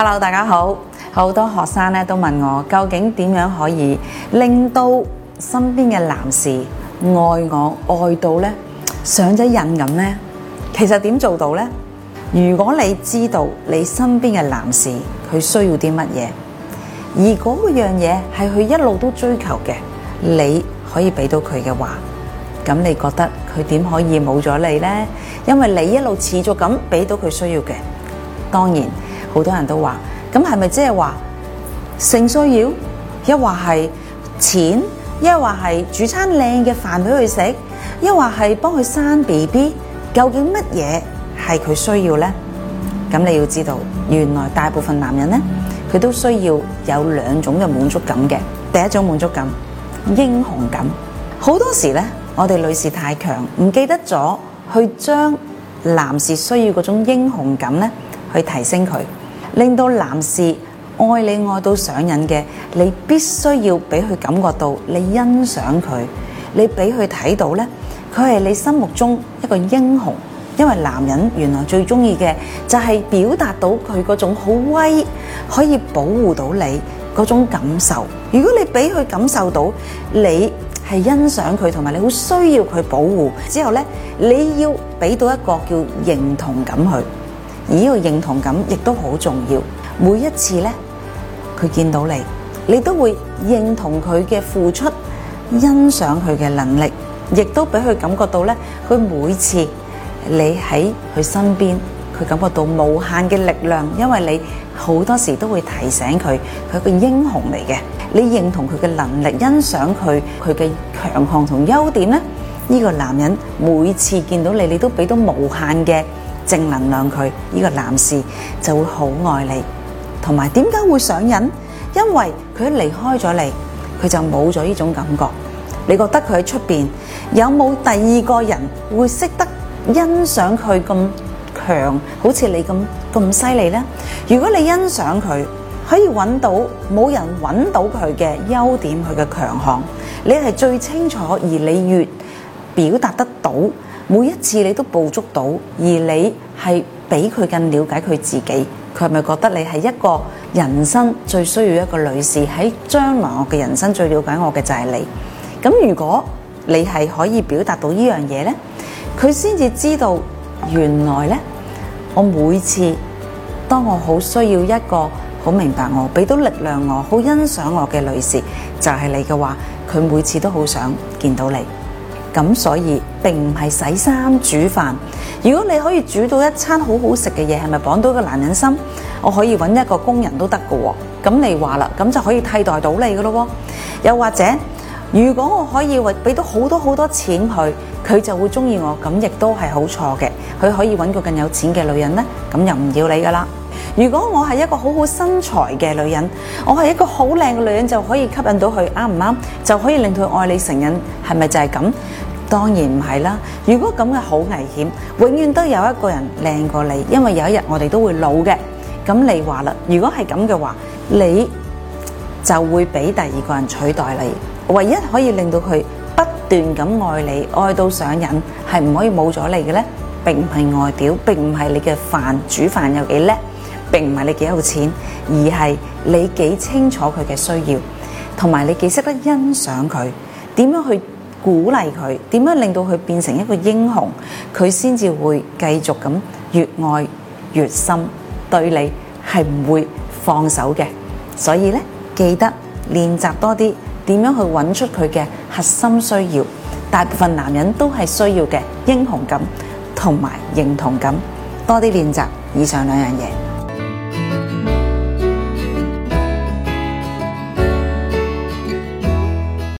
Hello， 大家好。好多學生咧都問我，究竟點樣可以令到身邊嘅男士愛我愛到咧上咗癮咁呢？其實點做到呢？如果你知道你身邊嘅男士佢需要啲乜嘢，而嗰個樣嘢係佢一路都追求嘅，你可以俾到佢嘅話，咁你覺得佢點可以冇咗你呢？因為你一路持續咁俾到佢需要嘅。當然好多人都話，咁係咪即係話性需要，一話係錢，一話係煮餐靚嘅飯俾佢食，一話係幫佢生 BB， 究竟乜嘢係佢需要呢？咁你要知道，原來大部分男人呢，佢都需要有兩種嘅滿足感嘅。第一種滿足感，英雄感。好多時呢，我哋女士太強，唔記得咗去將男士需要嗰種英雄感呢，去提升佢，令到男士愛你愛到上癮嘅，你必須要俾佢感覺到你欣賞佢，你俾佢睇到呢，佢係你心目中一個英雄。因為男人原來最中意嘅就係表達到佢嗰種好威，可以保護到你嗰種感受。如果你俾佢感受到你係欣賞佢，同埋你好需要佢保護之後呢，你要俾到一個叫認同感佢。而呢個認同感亦都好重要。每一次呢，佢見到你，你都會認同佢嘅付出，欣賞佢嘅能力，亦都俾佢感覺到呢，佢每次你喺佢身邊，佢感覺到無限嘅力量，因為你好多時都會提醒佢，佢係個英雄嚟嘅。你認同佢嘅能力，欣賞佢嘅強項同優點呢，呢個男人每次見到你，你都俾到無限嘅正能量佢，呢個男士就會好愛你。同埋點解會上癮？因為佢一離開咗你，佢就冇咗呢種感覺。你覺得佢喺出邊有冇第二個人會識得欣賞佢咁強，好似你咁犀利呢？如果你欣賞佢，可以揾到冇人揾到佢嘅優點，佢嘅強項，你係最清楚，而你越表達得到，每一次你都捕捉到，而你係比佢更了解佢自己，佢係咪覺得你係一個人生最需要一個女士？喺將來我嘅人生最了解我嘅就係你。咁如果你係可以表達到呢樣嘢呢，佢先至知道原來呢，我每次當我好需要一個好明白我，俾到力量我，好欣賞我嘅女士，就係你嘅話，佢每次都好想見到你。咁所以並唔係洗衫煮飯。如果你可以煮到一餐好好食嘅嘢，係咪綁到一個男人心？我可以揾一個工人都得㗎喎。咁你話啦，咁就可以替代到你㗎咯喎。又或者如果我可以俾到好多錢佢就會中意我，咁亦都係好錯嘅。佢可以揾個更有錢嘅女人呢，咁又唔要你噶啦。如果我係一個好好身材嘅女人，我係一個好靚嘅女人，就可以吸引到佢，啱唔啱？就可以令佢愛你成癮，係咪就係咁？當然唔係啦。如果咁嘅好危險，永遠都有一個人靚過你，因為有一日我哋都會老嘅。咁你話啦，如果係咁嘅話，你就會俾第二個人取代你。唯一可以令到佢不斷咁愛你，愛到上癮，係唔可以冇咗你嘅呢？並唔係外表，並唔係你嘅飯煮飯有幾叻，並唔係你幾有錢，而係你幾清楚佢嘅需要，同埋你幾識得欣賞佢，點樣去鼓勵佢，點樣令到佢變成一個英雄，佢先至會繼續咁越愛越深，對你係唔會放手嘅。所以呢，記得練習多啲點樣去揾出佢嘅核心需要。大部分男人都係需要嘅英雄感同埋認同感，多啲練習以上兩樣嘢。